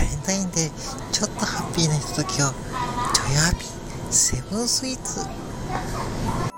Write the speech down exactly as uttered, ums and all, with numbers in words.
レンタインでちょっとハッピーなひとときを、ちょいハッピーセブンスイーツ。